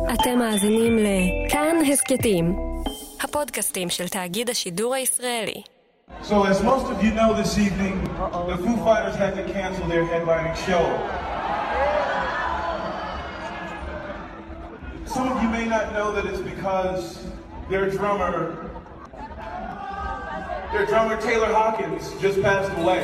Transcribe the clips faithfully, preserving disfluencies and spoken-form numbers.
אתם מאזינים לכאן הסקטים, הפודקאסטים של תאגיד השידור הישראלי. So as most of you know this evening, the Foo Fighters had to cancel their headlining show. Some of you may not know that it's because their drummer, their drummer Taylor Hawkins just passed away.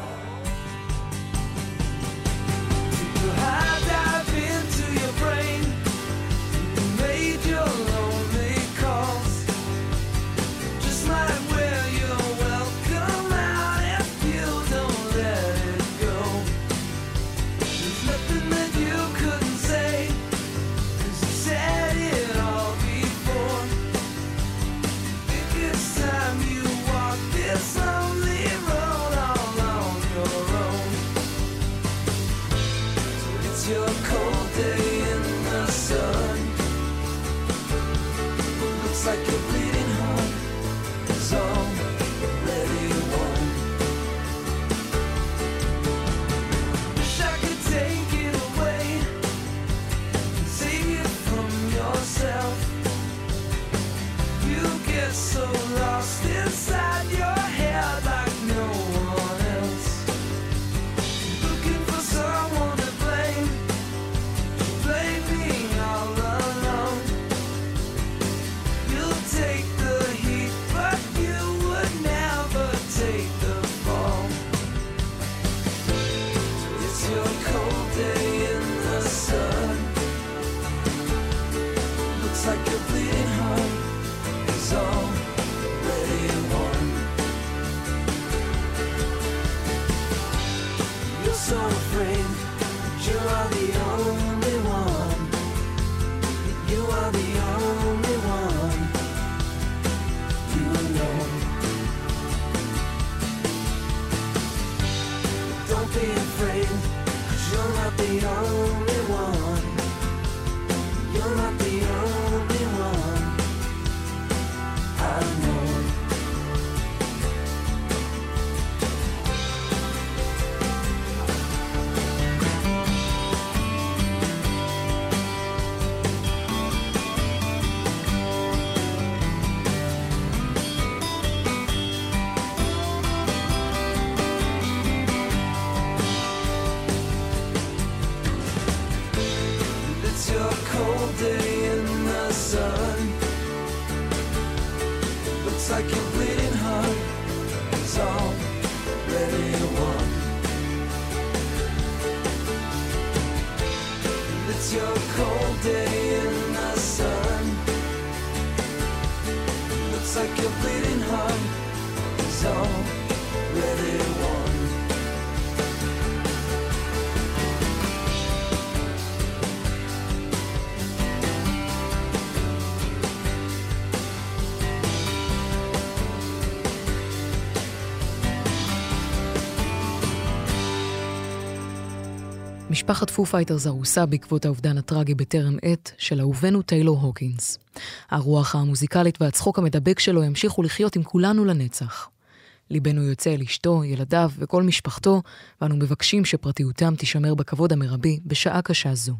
משפחת פו פייטרס הרוסה בעקבות האובדן הטרגי בטרם עת של אהובנו טיילור הוקינס. הרוח המוזיקלית והצחוק המדבק שלו ימשיכו לחיות עם כולנו לנצח. ליבנו יוצא אל אשתו, ילדיו וכל משפחתו, ואנו מבקשים שפרטיותם תישמר בכבוד המרבי בשעה קשה זו.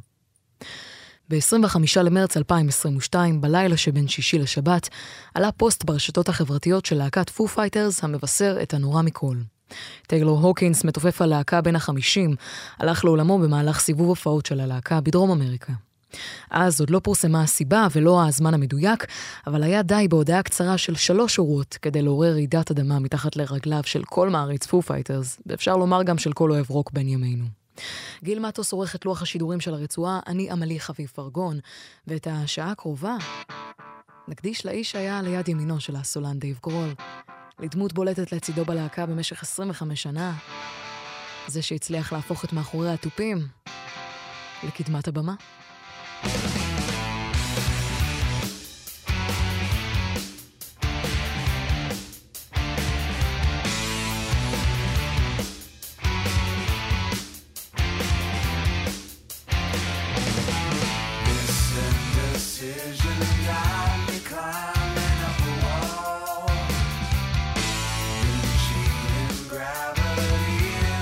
ב-עשרים וחמישה למרץ אלפיים עשרים ושתיים, בלילה שבין שישי לשבת, עלה פוסט ברשתות החברתיות של להקת פו פייטרס המבשר את הנורא מכל. טיילור הוקינס, מתופף הלהקה בין החמישים, הלך לעולמו במהלך סיבוב הופעות של הלהקה בדרום אמריקה. אז עוד לא פורסמה הסיבה ולא הזמן המדויק, אבל היה די בהודעה קצרה של שלוש שורות כדי לעורר רעידת אדמה מתחת לרגליו של כל מעריץ פו פייטרס, ואפשר לומר גם של כל אוהב רוק בין ימינו. גיל מטוס עורך את לוח השידורים של הרצועה, אני אמלי חביב פרגון, ואת השעה הקרובה נקדיש לאיש שהיה ליד ימינו של הסולן דייב גרול, לדמות בולטת לצידו בלהקה במשך עשרים וחמש שנה, זה שהצליח להפוך את מאחורי הטופים לקדמת הבמה.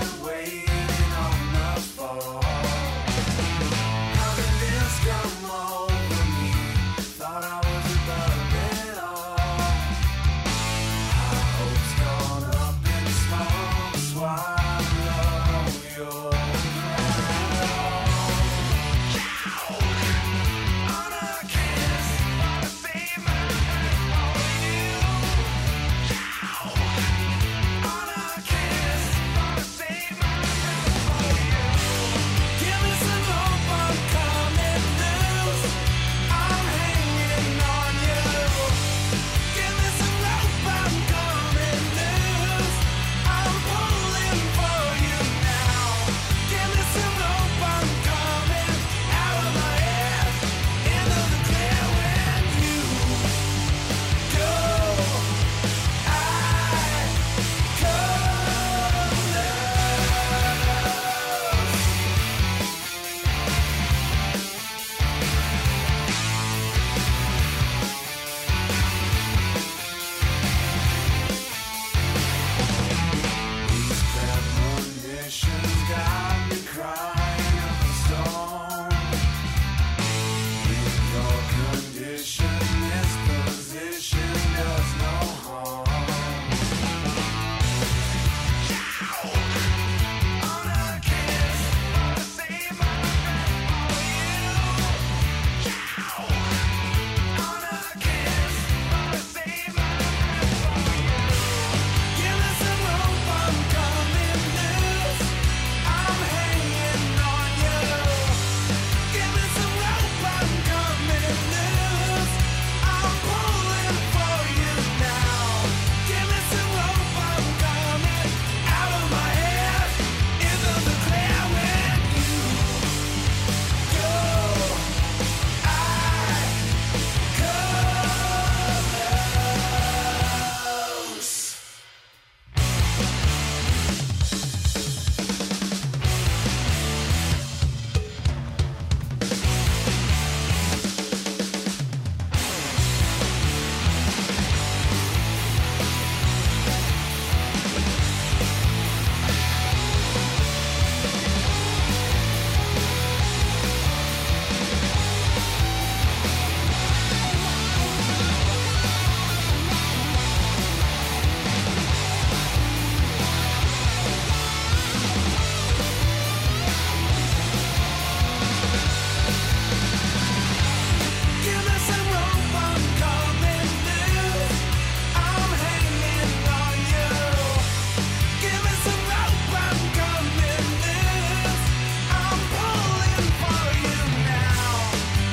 Come on.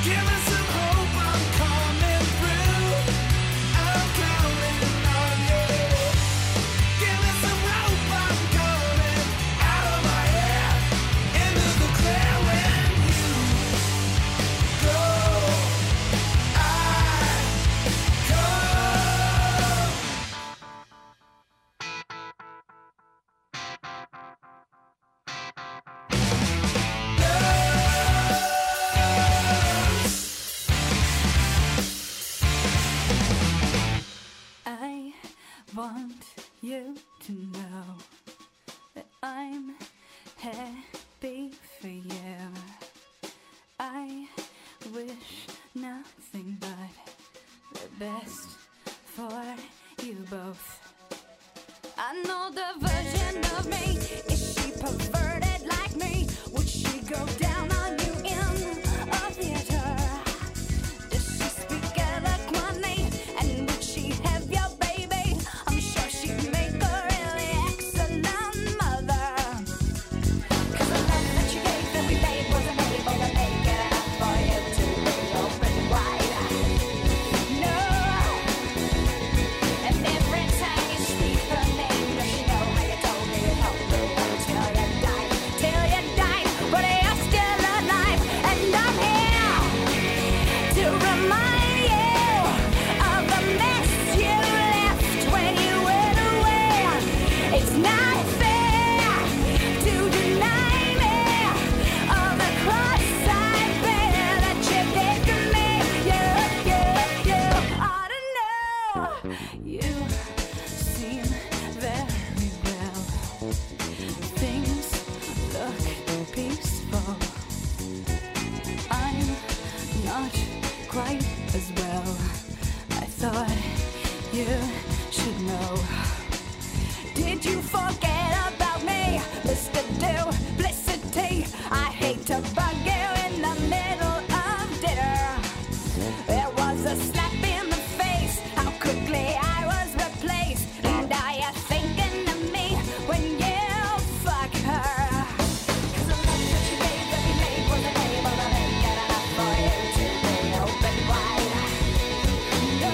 want you to know that I'm happy for you. I wish nothing but the best for you both. I know the version of me. Is she perverted like me? Would she go down on you in a theater? Does she speak eloquently? And would she have your baby? I'm sure she'd make a really excellent mother. Cause the love that you gave every day wasn't able to make it enough for you to be open wide. No. And every time you speak her name, does she know how you told me you'd help me until you died, till you died, but you're still alive, and I'm here to remind you of the mess you left when you went away. It's not fair to deny me of the cross I bear that you did to me. You, you, you ought to know. You seem very well. Things look peaceful. I'm not quite as well. I thought you should know. Did you forget about me, Mister Duplicity? I hate to bug you in the middle of dinner. There was a slap in the face, how quickly I was replaced. And are you thinking of me when you fuck her? Cause the love that you gave every day wasn't able to make it enough for you to be open wide. No.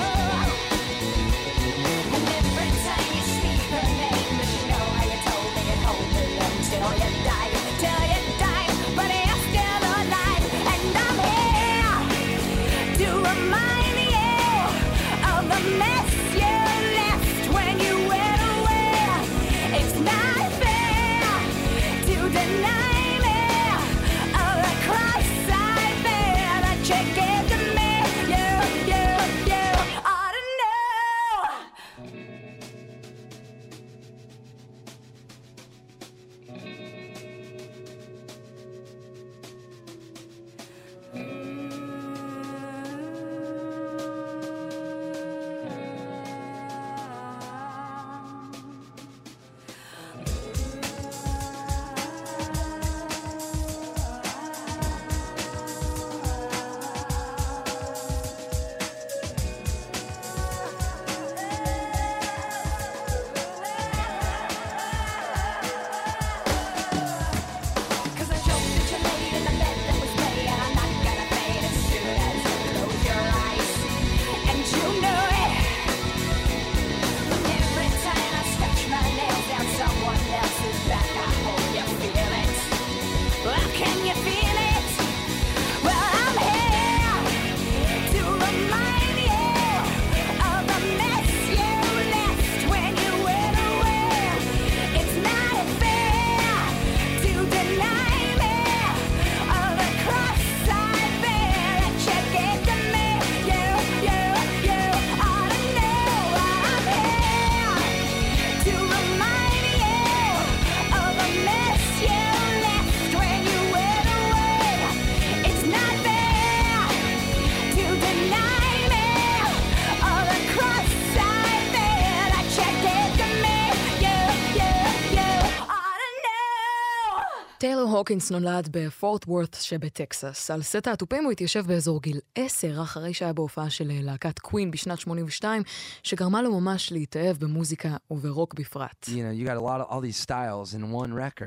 And every time you speak her name, does she know how you told me you'd hold me until you died, till you died, but you're still alive, and I'm here to remind you of the mess you left when you went away. It's not fair to deny me of the cross I bear that you gave to me. You, you, you ought to know. Cause I joked that you laid in the bed that was made, and I'm not gonna fade as soon as you close your eyes. And you know it. Every time I scratch my nails down someone else's back, I hope you feel it. Well, can you feel it? Well, I'm here to remind you of the mess you left when you went away. It's not fair to deny me of the cross I bear that you gave to me. You, you, you ought to know I'm here to remind you of the mess you left when you went away. It's not fair to deny me of the cross I bear that you gave to me. You, you, you ought to know. טיילור הוקינס נולד בפורט וורת שבטקסס. על סט האטופים הוא התיישב באזור גיל עשר, אחרי שהיה בהופעה של להקת קווין בשנת שמונים ושתיים, שגרמה לו ממש להתאהב במוזיקה וברוק בפרט. You know, you got a lot of all these styles in one record.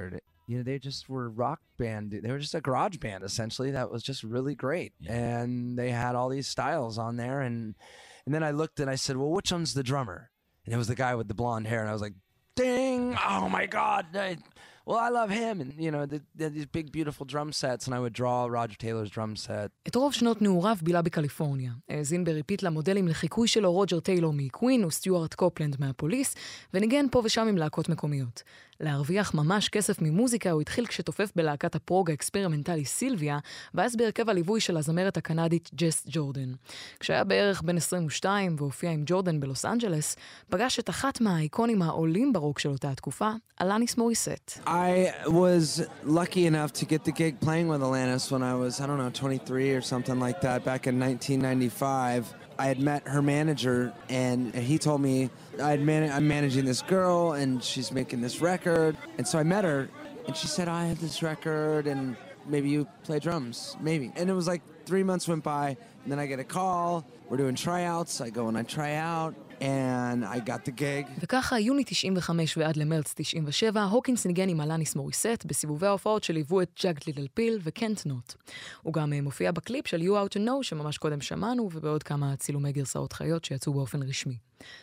You know, they just were rock band. They were just a garage band, essentially, that was just really great. Yeah. And they had all these styles on there. And and then I looked and I said, well, which one's the drummer? And it was the guy with the blonde hair. And I was like, ding! Oh, my God! I, well, I love him. And, you know, they had these big, beautiful drum sets, and I would draw Roger Taylor's drum set. את רוב שנות נעוריו בילה בקליפורניה. האזין בריפיט למודלים לחיקוי שלו רוג'ר טיילור מקווין וסטיוארט קופלנד מהפוליס, וניגן פה ושם עם להקות מקומיות. להרוויח ממש כסף ממוזיקה הוא התחיל כשתופף בלהקת הפרוג האקספרימנטלי סילביה, ואז בהרכב הליווי של הזמרת הקנדית ג'ס ג'ורדן. כשהיה בערך בן עשרים ושתיים והופיע עם ג'ורדן בלוס אנג'לס, פגש את אחת מהאיקונים העולים ברוק של אותה התקופה, אלניס מוריסט. I was lucky enough to get the gig playing with Alanis when I was, I don't know, twenty-three or something like that back in nineteen ninety-five. I had met her manager, and he told me I'd man- I'm managing this girl, and she's making this record. And so I met her, and she said, I have this record, and maybe you play drums, maybe. And it was like three months went by, and then I get a call. We're doing tryouts. I go and I try out, and I got the gig. וככה, יוני תשעים וחמש ועד למרץ תשעים ושבע, הוקינס ניגן עם אלניס מוריסט בסיבובי ההופעות שליוו את ג'אגד ליטל פיל וקנט נוט. הוא גם מופיע בקליפ של You Out to Know שממש קודם שמענו, ובעוד כמה צילומי גרסאות חיות שיצאו באופן רשמי.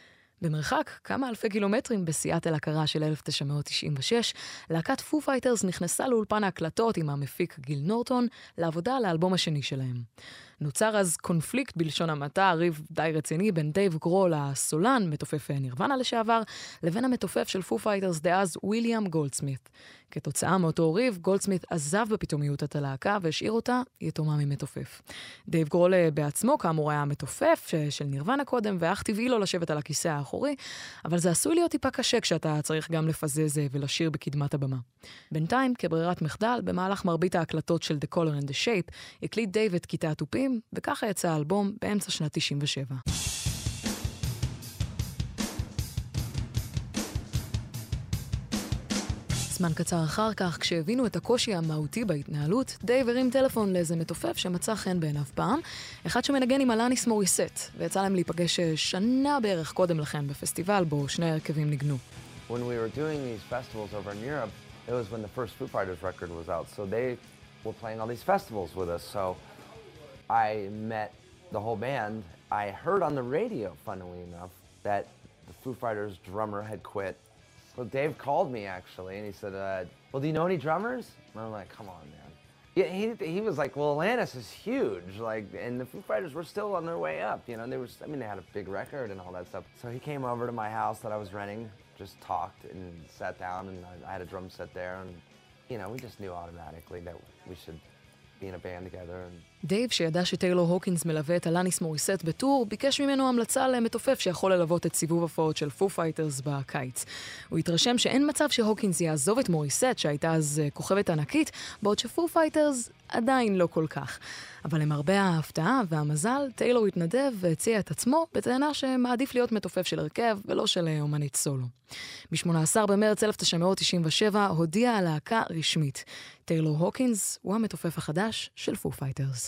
במרחק כמה אלפי קילומטרים בסיאטל הקרה של אלף תשע מאות תשעים ושש, להקת פו פייטרס נכנסה לאולפן ההקלטות עם המפיק גיל נורטון לעבודה על האלבום השני שלהם. נוצר אז קונפליקט בלשון המעטה, ריב די רציני בין דייב גרול הסולן, מתופף נירוונה לשעבר, לבין המתופף של פו פייטרס דאז וויליאם גולדסמית. כתוצאה מאותו ריב, גולדסמית עזב בפתאומיות את הלהקה והשאיר אותה יתומה ממתופף. דייב גרול בעצמו כאמור היה המתופף של נירוונה קודם, ואך טבעי לו לשבת על הכיסא האחורי, אבל זה עשוי להיות טיפה קשה כשאתה צריך גם לפזז ולשיר בקדמת הבמה. בינתיים, כברירת מחדל, במהלך מרבית ההקלטות של The Color and the Shape, הקליט דייב את כיתה התופים, וככה יצא האלבום באמצע שנת תשעים ושבע. זמן קצר אחר כך, כשהבינו את הקושי המהותי בהתנהלות, דייב הרים טלפון לאיזה מתופף שמצא חן בעיניו פעם, אחד שמנגן עם אלניס מוריסט, ויצא להם להיפגש שנה בערך קודם לכן בפסטיבל בו שני הרכבים ניגנו. When we were doing these festivals over in Europe, it was when the first Foo Fighters record was out, so they were playing all these festivals with us, so I met the whole band. I heard on the radio, funnily enough, that the Foo Fighters drummer had quit. So Dave called me actually, and he said, uh, well, do you know any drummers? And I'm like, come on, man. Yeah, he he was like, well, Alanis is huge, like, and the Foo Fighters were still on their way up, you know. They were, I mean, they had a big record and all that stuff. So he came over to my house that I was renting, just talked and sat down, and I, I had a drum set there, and you know, we just knew automatically that we should be in a band together. And דייב, שידע שטיילור הוקינס מלווה את אלניס מוריסט בטור, ביקש ממנו המלצה למתופף שיכול ללוות את סיבוב הפעות של פו פייטרס בקיץ. הוא התרשם שאין מצב שהוקינס יעזוב את מוריסט, שהייתה אז כוכבת ענקית, בעוד שפו פייטרס עדיין לא כל כך. אבל למרבה ההפתעה והמזל, טיילור התנדב והציע את עצמו בטענה שמעדיף להיות מתופף של הרכב ולא של אומנית סולו. ב-שמונה עשר במרץ אלף תשע מאות תשעים ושבע הודיעה הלהקה רשמית. טיילור הוקינס הוא המתופף החדש של פו פייטרס.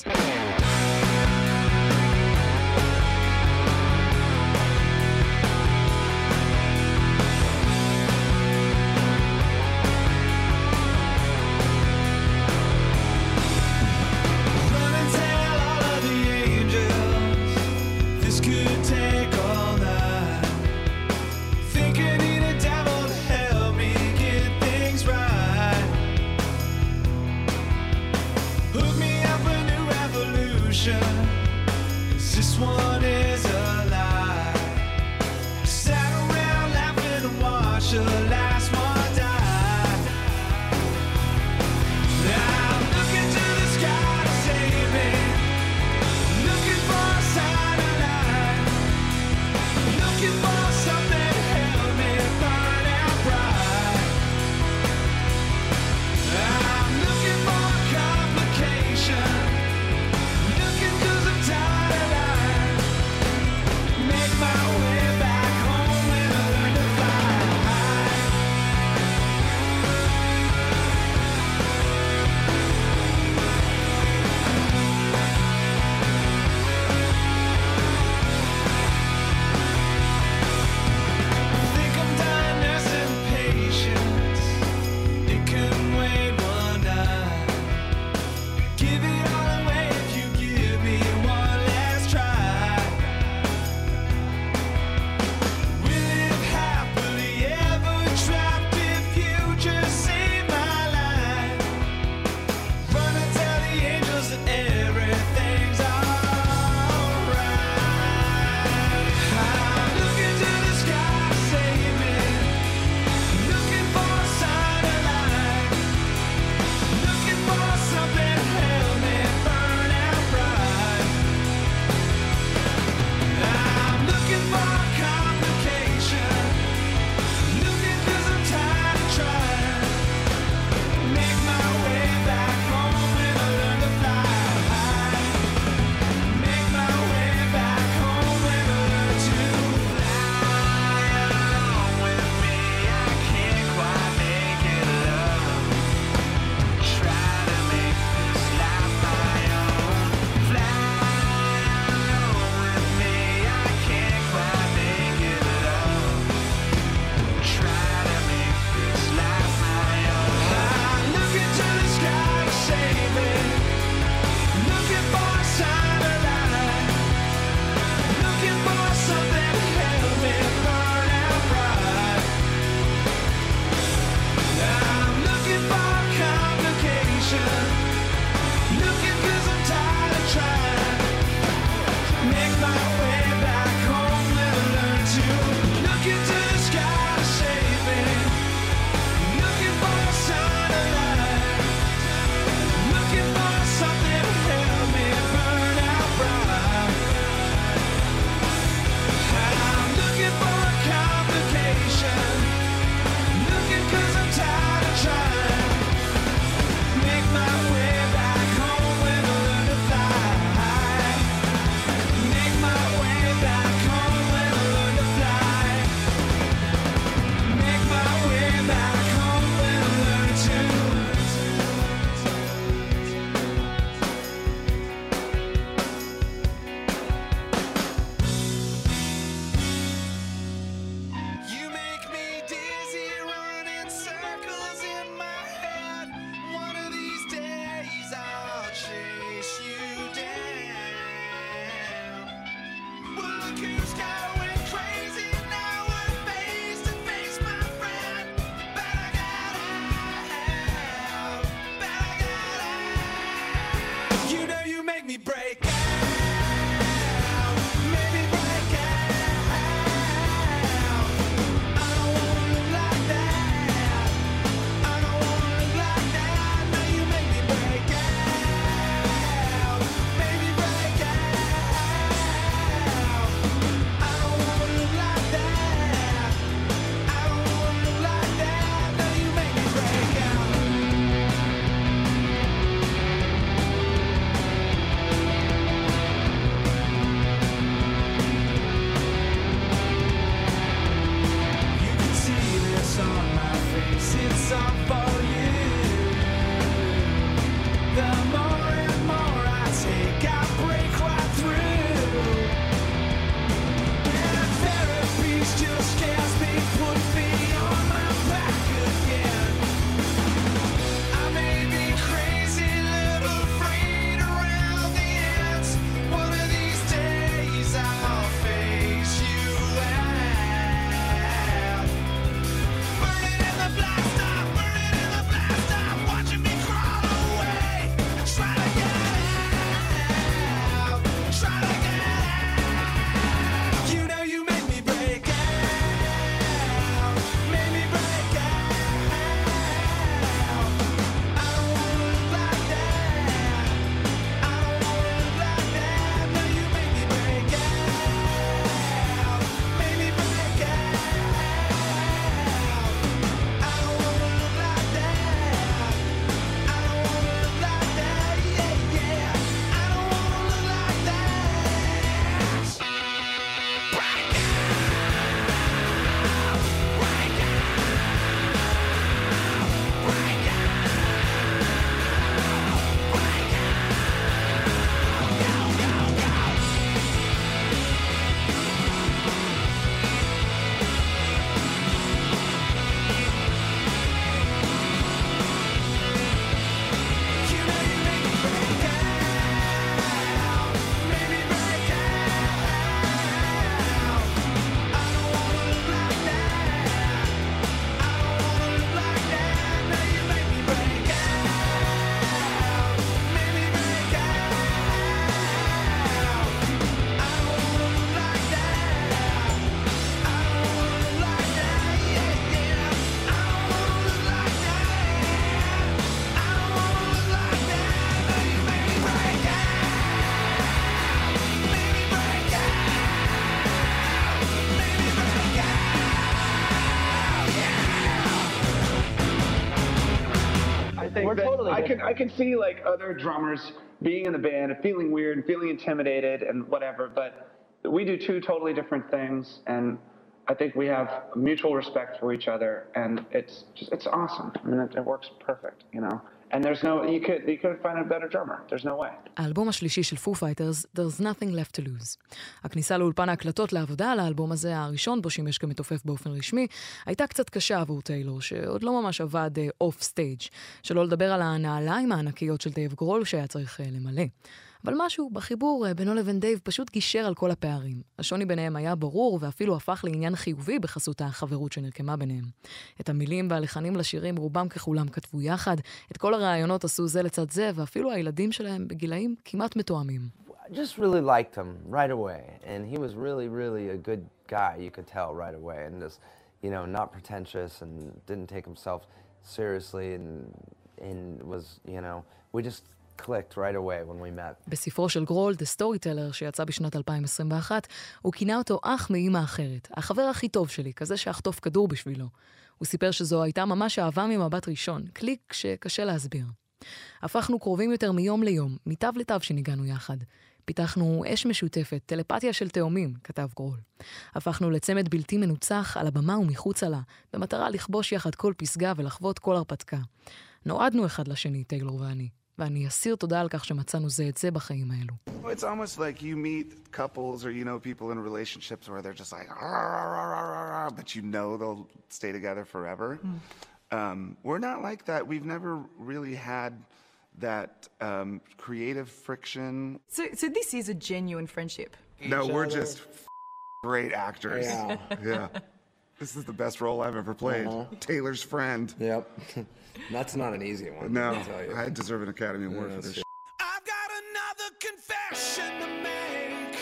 We're than totally I can different. I can see like other drummers being in the band and feeling weird and feeling intimidated and whatever, but we do two totally different things, and I think we have mutual respect for each other, and it's just it's awesome. I mean, it, it works perfect, you know. And there's no you could you couldn't find a better drummer. There's no way. האלבום השלישי של פו פייטרס, There's Nothing Left to Lose. הכניסה לאולפן ההקלטות לעבודה על האלבום הזה, הראשון בו שימש כמתופף באופן רשמי, הייתה קצת קשה עבור טיילור, שעוד לא ממש עבד אוף סטייג', שלא לדבר על הנעליים הענקיות של דייב גרול שהיה צריך למלא. אבל משהו בחיבור בינו לבין דייב פשוט גישר על כל הפערים. השוני ביניהם היה ברור ואפילו הפך לעניין חיובי בחסות החברות שנרקמה ביניהם. את המילים והלחנים לשירים רובם ככולם כתבו יחד, את כל הרעיונות עשו זה לצד זה, ואפילו הילדים שלהם בגילאים כמעט מתואמים. I just really liked him right away, and he was really, really a good guy, you could tell right away, and just, you know, not pretentious and didn't take himself seriously, and, and was, you know, we just clicked right away when we met. בספרו של גרול, The Storyteller, שיצא בשנת אלפיים עשרים ואחת, הוא כינה אותו אח מאמא אחרת, החבר הכי טוב שלי, כזה שאחטוף כדור בשבילו. הוא סיפר שזו הייתה ממש אהבה ממבט ראשון, קליק שקשה להסביר. הפכנו קרובים יותר מיום ליום, מתו לתו שניגענו יחד. פיתחנו אש משותפת, טלפתיה של תאומים, כתב גרול. הפכנו לצמד בלתי מנוצח על הבמה ומחוץ לה, במטרה לכבוש יחד כל פסגה ולחוות כל הרפתקה. נועדנו אחד לשני, טיילור ואני. ואני אסיר תודה על כך שמצאנו זה את זה בחיים האלו. It's almost like you meet couples or you know people in relationships where they're just like rah, rah, rah, rah, rah, but you know they'll stay together forever. Mm. Um, we're not like that. We've never really had that um, creative friction. So, so this is a genuine friendship? No, we're just f- great actors. Yeah. Yeah. This is the best role I've ever played. Uh-huh. Taylor's friend. Yep. That's not an easy one. No, I tell you. I deserve an Academy Award Yeah, for this. I've got another confession to make.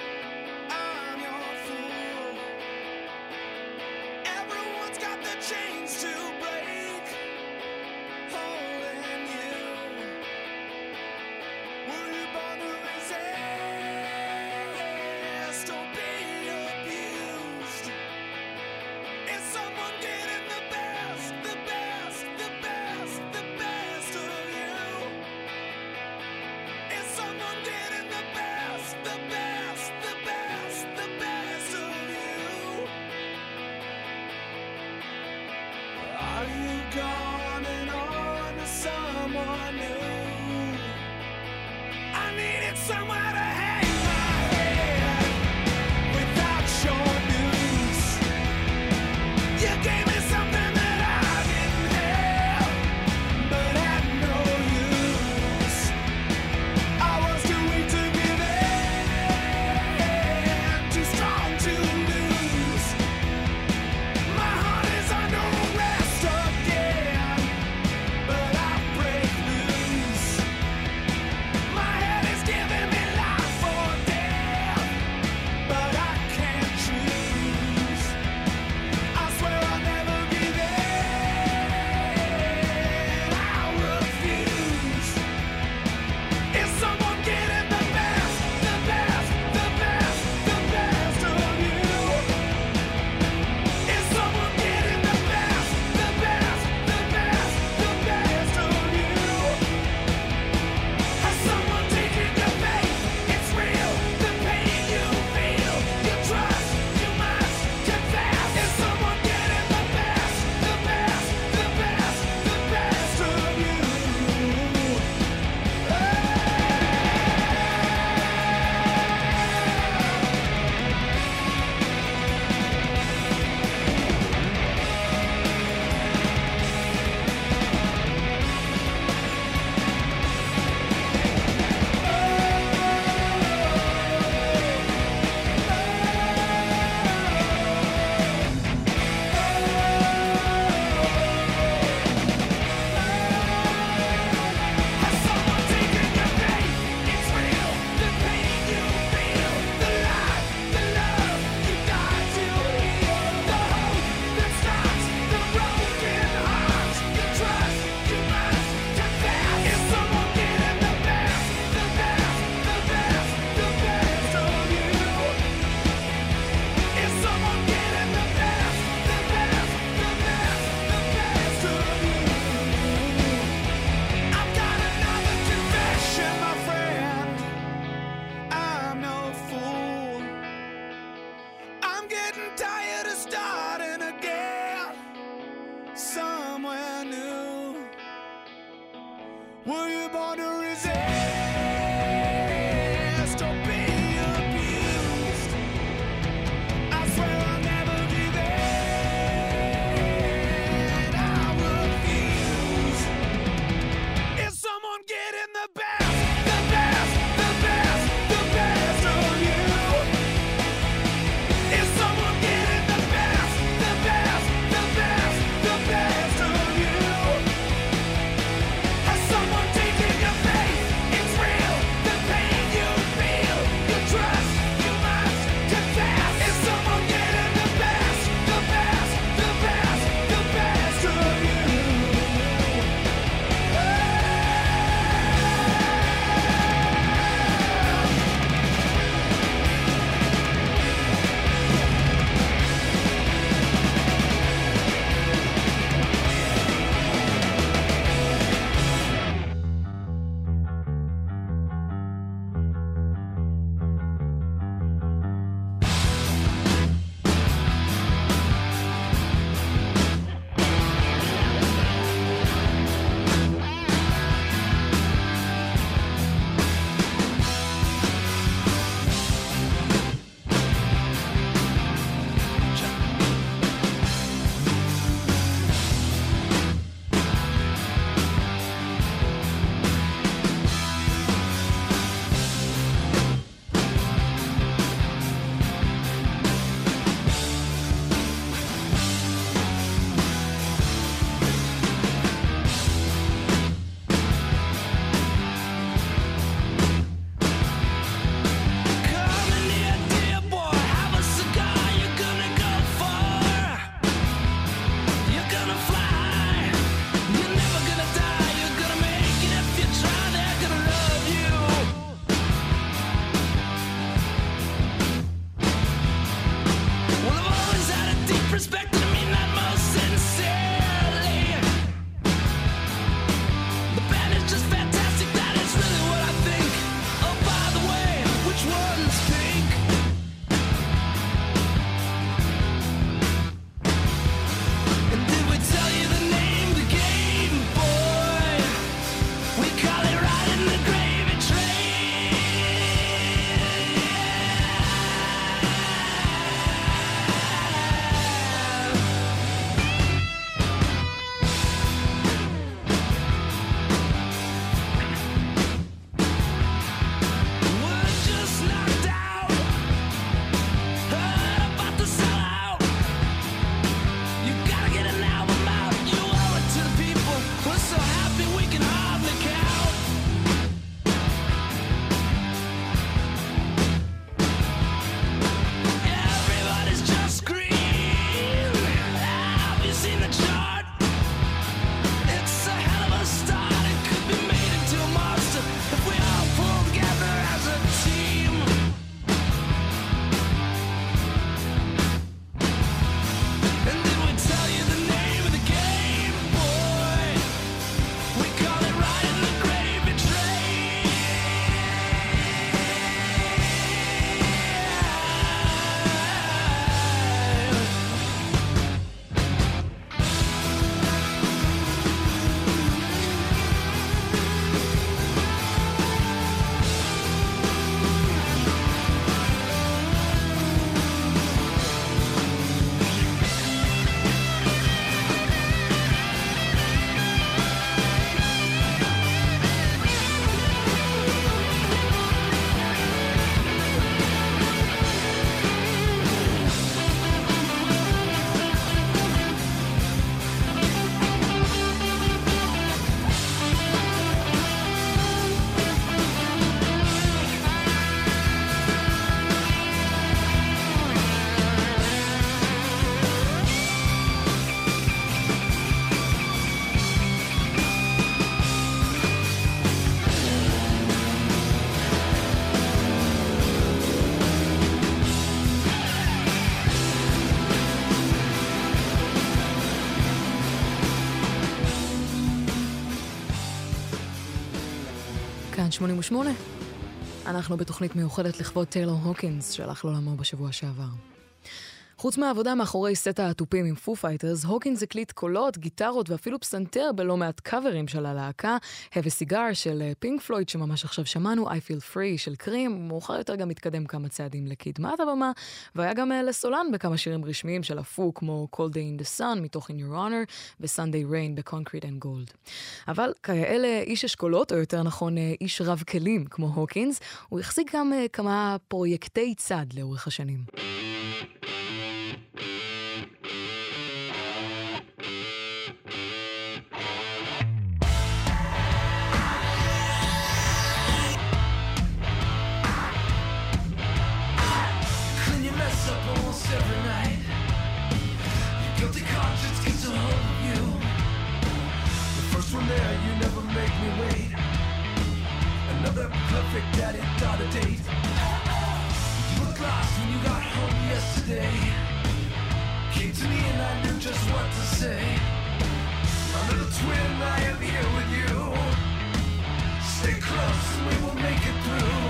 I'm your fool. Everyone's got the chains to break. Holding you. Were you born to resist or be abused? Is someone getting the best, the best, the best, the best of you? Is someone getting the best, the best, the best, the best of you? Are you going on to someone new? I needed somewhere to hang my head without your news. You gave me something that I didn't have, but had no use. I was too weak to give in, too strong to lose. My heart is under arrest again, but I break loose. My head is giving me life. I'm no fool. I'm getting tired of starting again somewhere new. Were you born to resist or be abused? I swear I'll never give in. I refuse. Is someone getting the best, the best, the best, the best of you? Is someone getting the best, the best, the best, the best of you? Has someone taken your faith? It's real. The pain you feel, you trust, you must confess. Is someone getting the best, the best, the best, the best of you? Come in here, dear boy, have a cigar. You're gonna go far. You're gonna fly. You're never gonna die. You're gonna make it if you try. They're gonna love you. Well, I've always had a deep respect, and I mean that most sincerely. The band is just fantastic, that is really what I think. Oh, by the way, which one's pink? And did we tell you the name of the game, boy? We call it riding the gravy train. We're just knocked out, heard about the sellout. You gotta get an album out. You owe it to the people. We're so happy we can hardly count. Everybody's just scream. Have you seen the chart? It's a hell of a start. It could be made into a monster if we all pull together as a team. And did we tell you the name of the game, boy? We call it riding the gravy train. כאן שמונים ושמונה. אנחנו בתוכנית מיוחדת לכבוד טיילור הוקינס, שהלך לעולמו בשבוע שעבר. חוץ מהעבודה מאחורי סט האטופים עם פו פייטרס, הוקינס הקליט קולות, גיטרות ואפילו פסנתר בלא מעט קאברים של הלהקה, Have a Cigar של פינק פלויד שממש עכשיו שמענו, I Feel Free של קרים, מאוחר יותר גם התקדם כמה צעדים לקדמת הבמה, והיה גם לסולן בכמה שירים רשמיים של הפו, כמו Cold Day in the Sun מתוך In Your Honor ו-Sunday Rain ב-Concrete and Gold. אבל כאלה איש אשכולות, או יותר נכון איש רב כלים כמו הוקינס, הוא החזיק גם כמה פרויקטי צד לאורך השנים. Every night, your guilty conscience gets a hold of you. The first one there, you never make me wait. Another perfect daddy-daughter date. You looked lost when you got home yesterday. Came to me and I knew just what to say. My little twin, I am here with you. Stay close and we will make it through.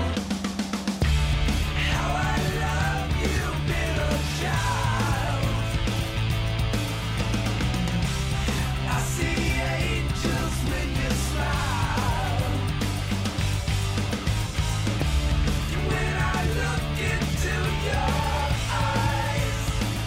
How I love you, middle child. I see angels when you smile. When I look into your eyes,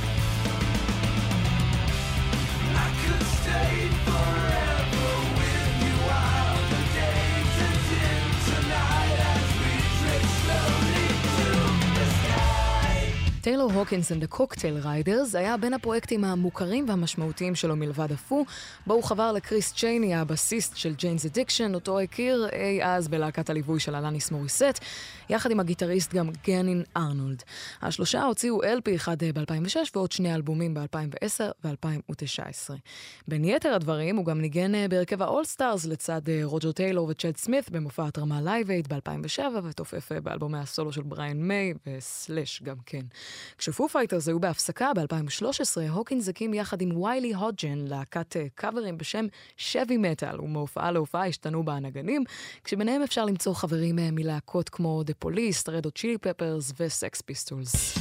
I could stay forever with you while the days end in tonight as we drift slowly to the sky. טיילור הוקינס and the Cocktail Riders היה בין הפרויקטים המוכרים והמשמעותיים שלו מלבד הפו, בו הוא חבר לקריס צ'ייני, הבסיסט של ג'יינס אדיקשן, אותו הכיר אי אז בלהקת הליווי של אלניס מוריסט, יחד עם הגיטריסט גם גנין ארנולד. השלושה הוציאו אל פי אחד ב-אלפיים ושש ועוד שני אלבומים ב-אלפיים ועשר ו-אלפיים ותשע עשרה. בין יתר הדברים הוא גם ניגן בהרכב האול-סטארס לצד רוג'ר טיילור וצ'אד סמית במופע התרמה לייב אייד ב-אלפיים ושבע ותופף באלבומי הסולו של בריאן מיי וסלש גם כן. כשפו פייטרס היו בהפסקה ב-אלפיים ושלוש עשרה, הוקינס הקים יחד עם ויילי הודג'ן להקת קאברים בשם שבי מטל, ומהופעה להופעה השתנו בה הנגנים, כשביניהם אפשר למצוא חברים מלהקות כמו The Police, Red Hot Chili Peppers ו-Sex Pistols.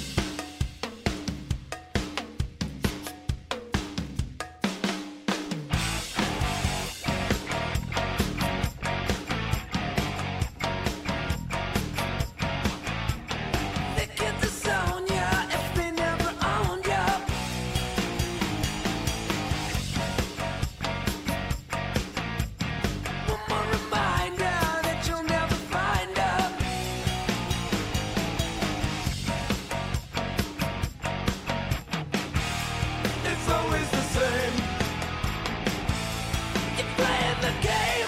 They get this on ya if they never owned ya. One more reminder that you'll never find her. It's always the same. You're playing the game.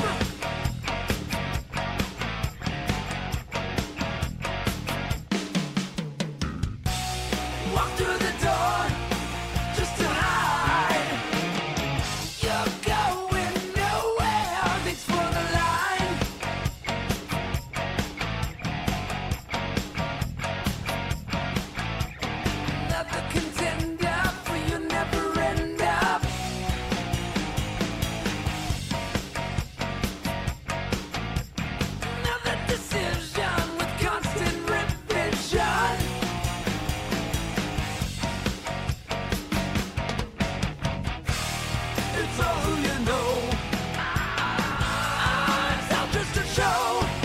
Walk through the door just to hide. You're going nowhere. Thanks for the line. Another contender for you never end up. Another decision with constant revision. It's all who you know. It's all just a show.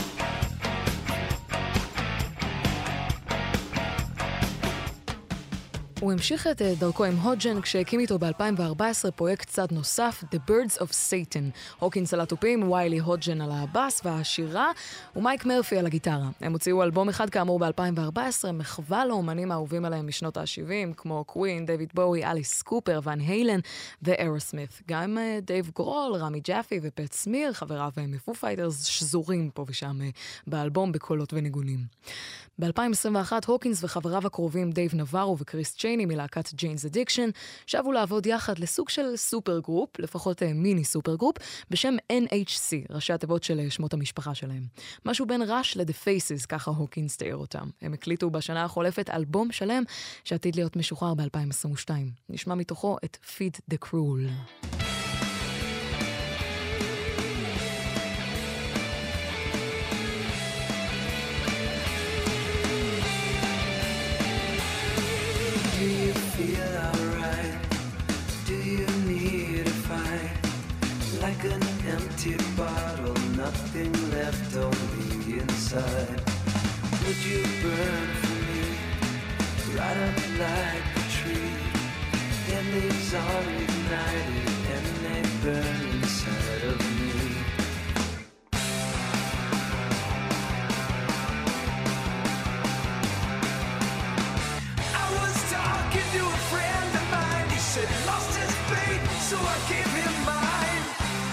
הוא המשיך את דרכו עם הודג'ן כשהקים איתו ב-אלפיים וארבע עשרה פרויקט צד נוסף, The Birds of Satan. הוקינס על התופים, ויילי הודג'ן על הבאס והשירה, ומייק מרפי על הגיטרה. הם הוציאו אלבום אחד כאמור ב-אלפיים וארבע עשרה, מחווה לאומנים האהובים עליהם משנות ה-שבעים, כמו קווין, דיוויד בואי, אליס קופר, ון היילן ואירוסמית. גם דייב גרול, רמי ג'אפי ופט סמיר, חבריו מפו פייטרס, שזורים פה ושם באלבום בקולות וניגונים. ב-אלפיים עשרים ואחת הוקינס וחבריו הקרובים דייב נברו וקריס צ'ייני מלהקת ג'יינס אדיקשן שבו לעבוד יחד לסוג של סופר גרופ, לפחות מיני סופר גרופ, בשם אן אייץ' סי, ראשי התיבות של שמות המשפחה שלהם. משהו בין ראש ל-The Faces, ככה הוקינס תיאר אותם. הם הקליטו בשנה החולפת אלבום שלם שעתיד להיות משוחרר ב-אלפיים עשרים ושתיים. נשמע מתוכו את Feed the Cruel. like an empty bottle, nothing left on the inside. Would you burn for me, right up like a tree? And these are ignited and they burn inside of me. I was talking to a friend of mine. He said he lost his faith, so I gave him mine.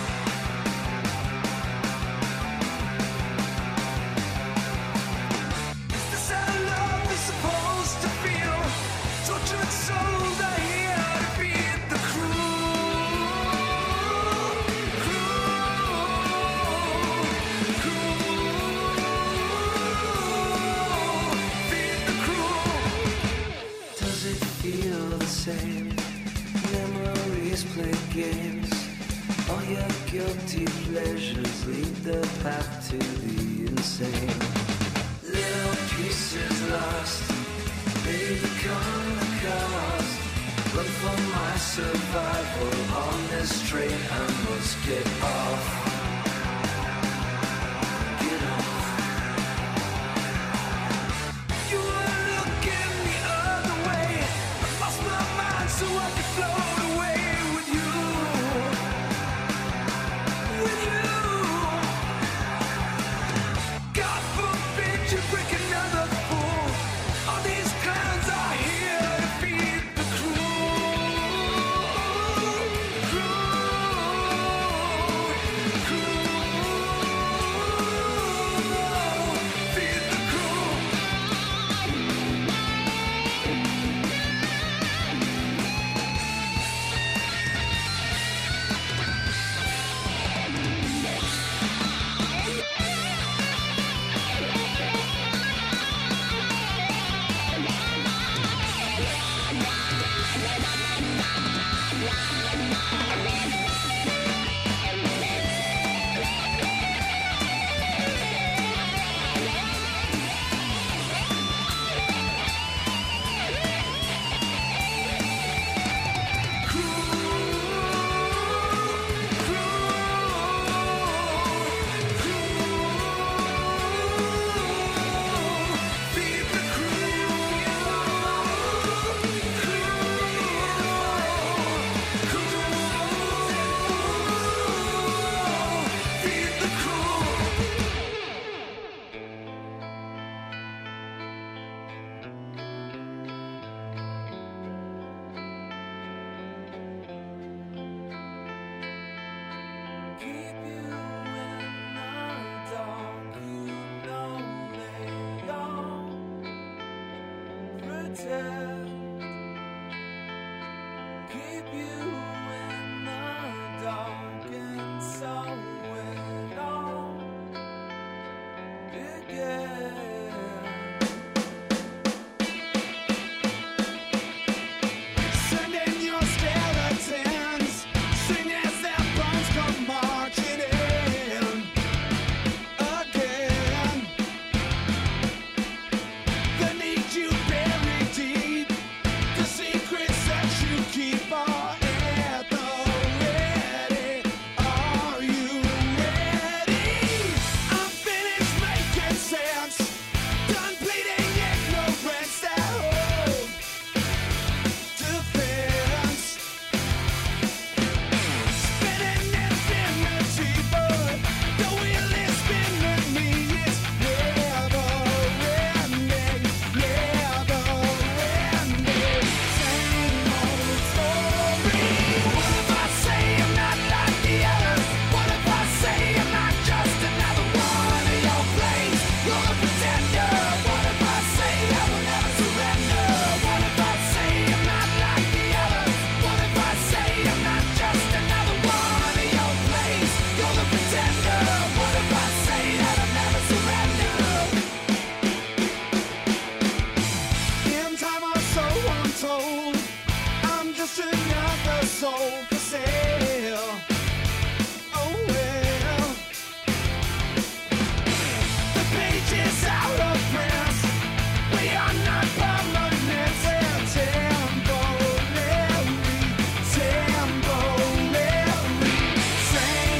Is this how love is supposed to feel? Tortured souls are here to feed the cruel, cruel, cruel. Feed the cruel. Does it feel the same? Memories play games. All your guilty pleasures lead the path to the insane. Little pieces lost, they become the cost. Run for my survival on this train, I must get off. Get off. You were looking the other way. I lost my mind so I could float away with you. With you. God forbid you break another fool. All these clowns are here to feed the cruel, cruel, cruel. Feed the cruel. Keep you in the dark and so it all began. Sending your skeletons, sing as their bones come marching in again. They need you buried deep, the secrets that you keep are at the ready. Are you ready? I'm finished making sense, done bleeding ignorance that hold defense. Spinning infinity, but the wheel is spinning me. It's never ending, never ending. Same old story. What if I say I'm not like the others? What if I say I'm not just another one of your plays? You're a pretender. What if I say I will never surrender? What if I say I'm not like the others? What if I say I'm not just another one of your plays? You're the pretender. What if I say that I'll never surrender? In time or so untold, I'm just another soul for sale. Oh well, the page is out of print. We are not permanent. They're temporary, temporary. Same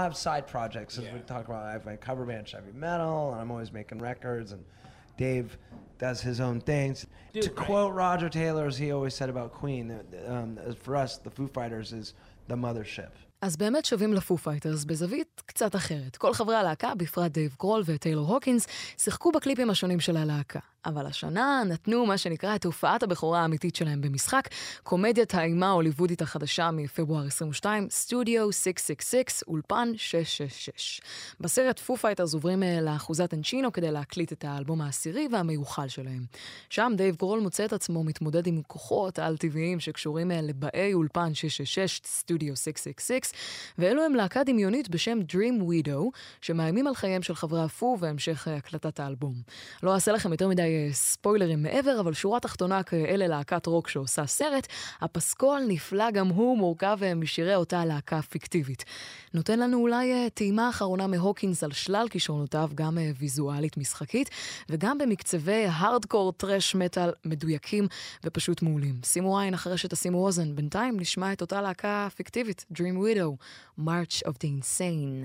have side projects, as we talk about. I have my cover band, Chevy Metal, and I'm always making records, and Dave does his own things. Dude, to right. quote Roger Taylor, as he always said about Queen, um, for us, the Foo Fighters is the mothership. אז באמת שווים לפו פייטרס בזווית קצת אחרת. כל חברי הלהקה, בפרט דייב גרול וטיילור הוקינס, שיחקו בקליפים השונים של הלהקה. אבל השנה נתנו מה שנקרא את הופעת הבכורה האמיתית שלהם במשחק, קומדיית האימה ההוליוודית החדשה מפברואר עשרים ושתיים, סטודיו שש שש שש, אולפן שש שש שש. בסרט פו פייטרס עוברים לאחוזת אנצ'ינו כדי להקליט את האלבום העשירי והמיוחל שלהם. שם דייב גרול מוצא את עצמו מתמודד עם כוחות על-טבעיים שקשורים לבאי אולפן שש שש שש, סטודיו שש שש שש, ואלו הם להקה דמיונית בשם Dream Widow, שמאיימים על חייהם של חברי הפו והמשך הקלטת האלבום. לא אעשה לכם יותר מדי ספוילרים מעבר, אבל שורה תחתונה כאלה להקת רוק שעושה סרט, הפסקול נפלא גם הוא מורכב משירי אותה להקה פיקטיבית. נותן לנו אולי טעימה אחרונה מהוקינס על שלל כישרונותיו, גם ויזואלית משחקית, וגם במקצבי הארדקור טרש מטל מדויקים ופשוט מעולים. שימו עין אחרי שתשימו אוזן, בינתיים נשמע את אותה להקה פיקטיבית, Dream Widow, March of the Insane.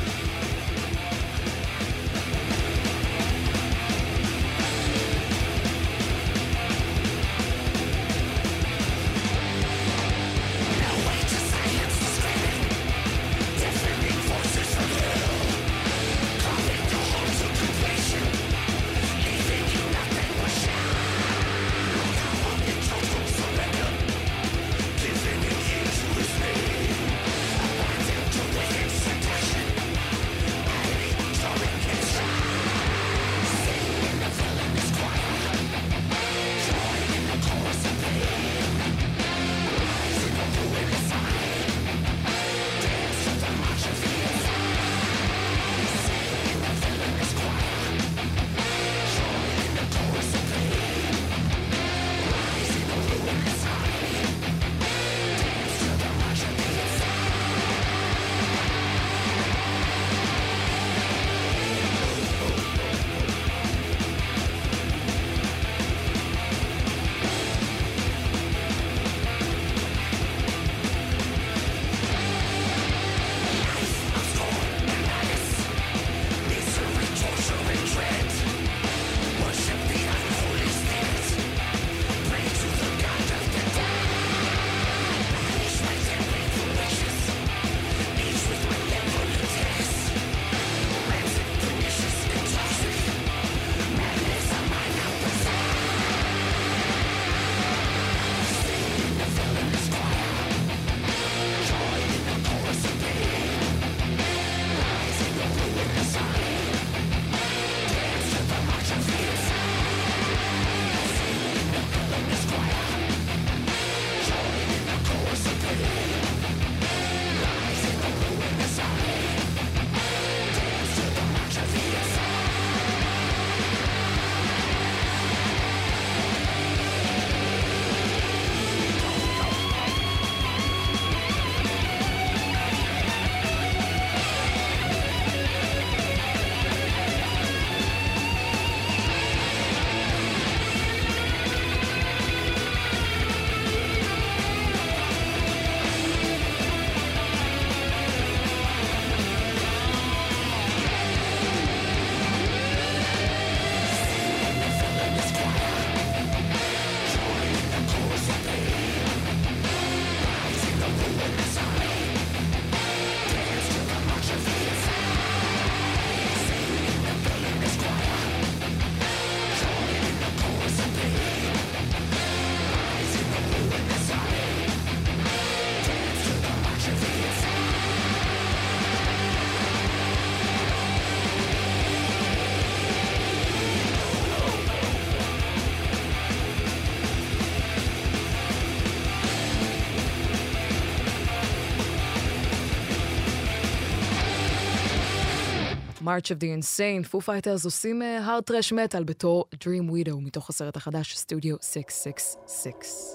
March of the Insane, פו פייטרס עושים hard trash metal בתור Dream Widow מתוך הסרט החדש סטודיו שש שש שש.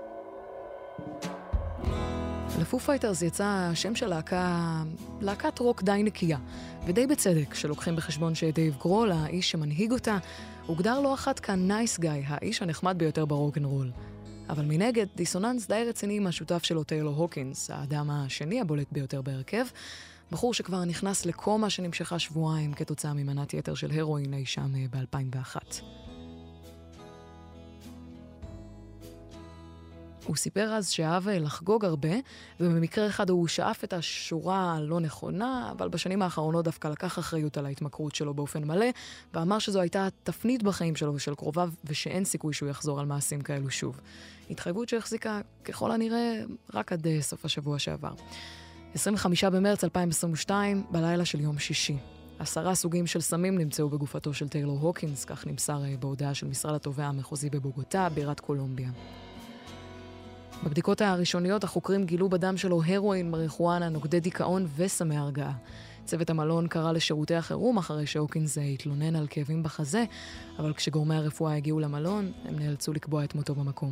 לפו פייטרס יצא השם של להקה, להקת רוק די נקייה, ודי בצדק שלוקחים בחשבון שדייב גרול, האיש שמנהיג אותה, הוגדר לא אחת כ-nice guy, האיש הנחמד ביותר ברוק'נ'רול. אבל מנגד, דיסוננס די רציני עם השותף שלו טיילור הוקינס, האדם השני הבולט ביותר בהרכב, בחור שכבר נכנס לקומה שנמשכה שבועיים כתוצאה ממנת יתר של הרואין אי שם ב-אלפיים ואחת. הוא סיפר אז שאהב לחגוג הרבה, ובמקרה אחד הוא שאף את השורה הלא נכונה, אבל בשנים האחרונות דווקא לקח אחריות על ההתמכרות שלו באופן מלא, ואמר שזו הייתה תפנית בחיים שלו ושל קרוביו, ושאין סיכוי שהוא יחזור על מעשים כאלו שוב. התחייבות שהחזיקה ככל הנראה רק עד סוף השבוע שעבר. עשרים וחמישה במרץ אלפיים עשרים ושתיים, בלילה של יום שישי. עשרה סוגים של סמים נמצאו בגופתו של טיילור הוקינס, כך נמסר בהודעה של משרד התובע המחוזי בבוגוטה, בירת קולומביה. בבדיקות הראשוניות החוקרים גילו בדם שלו הרואין, מריחואנה, נוגדי דיכאון וסמי הרגעה. צוות המלון קרא לשירותי החירום אחרי שהוקינס התלונן על כאבים בחזה, אבל כשגורמי הרפואה הגיעו למלון, הם נאלצו לקבוע את מותו במקום.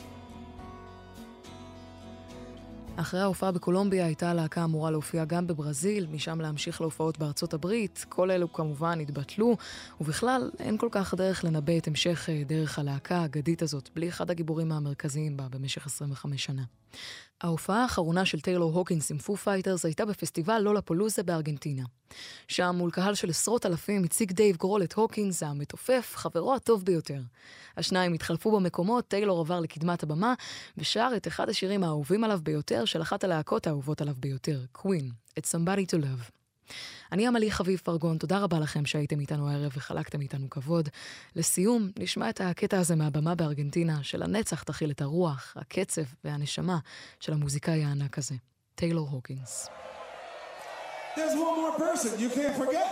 אחרי ההופעה בקולומביה הייתה הלהקה אמורה להופיע גם בברזיל, משם להמשיך להופעות בארצות הברית. כל אלו כמובן התבטלו, ובכלל אין כל כך דרך לנבא את המשך דרך הלהקה האגדית הזאת, בלי אחד הגיבורים המרכזיים בה במשך עשרים וחמש שנה. ההופעה האחרונה של טיילור הוקינס עם פו פייטרס הייתה בפסטיבל לולאפלוזה בארגנטינה. שם מול קהל של עשרות אלפים הציג דייב גרול את הוקינס המתופף, חברו הטוב ביותר. השניים התחלפו במקומות, טיילור עבר לקדמת הבמה ושר את אחד השירים האהובים עליו ביותר של אחת הלהקות האהובות עליו ביותר, קווין, It's Somebody to Love. אני אמלי חביב פרגון, תודה רבה לכם שהייתם איתנו הערב וחלקתם איתנו כבוד. לסיום, נשמע את הקטע הזה מהבמה בארגנטינה, של הנצח תכיל את הרוח, הקצב והנשמה של המוזיקאי הענק הזה, טיילור הוקינס. There's one more person you can't forget.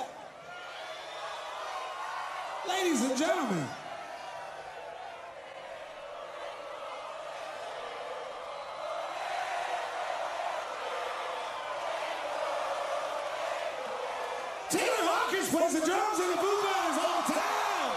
Ladies and gentlemen. Taylor Hawkins plays the drums in the Foo Fighters all the time.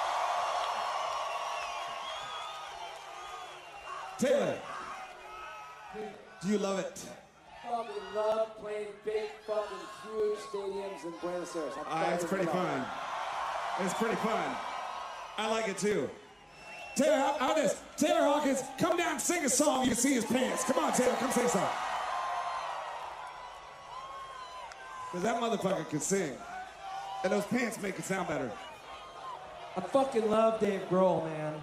Taylor, do you love it? Fucking love playing big, fucking huge stadiums in Buenos Aires. Uh, it's pretty fun. It's pretty fun. I like it too. Taylor, how, how this? Taylor Hawkins, come down and sing a song. You can see his pants. Come on, Taylor, come sing a song. Because that motherfucker can sing. And those pants make it sound better. I fucking love Dave Grohl, man.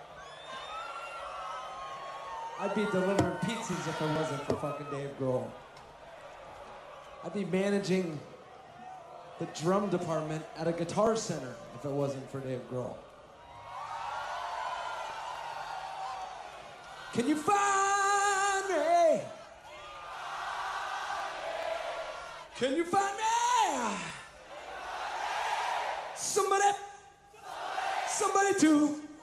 I'd be delivering pizzas if it wasn't for fucking Dave Grohl. I'd be managing the drum department at a Guitar Center if it wasn't for Dave Grohl. Can you find me? Can you find me? Somebody, somebody to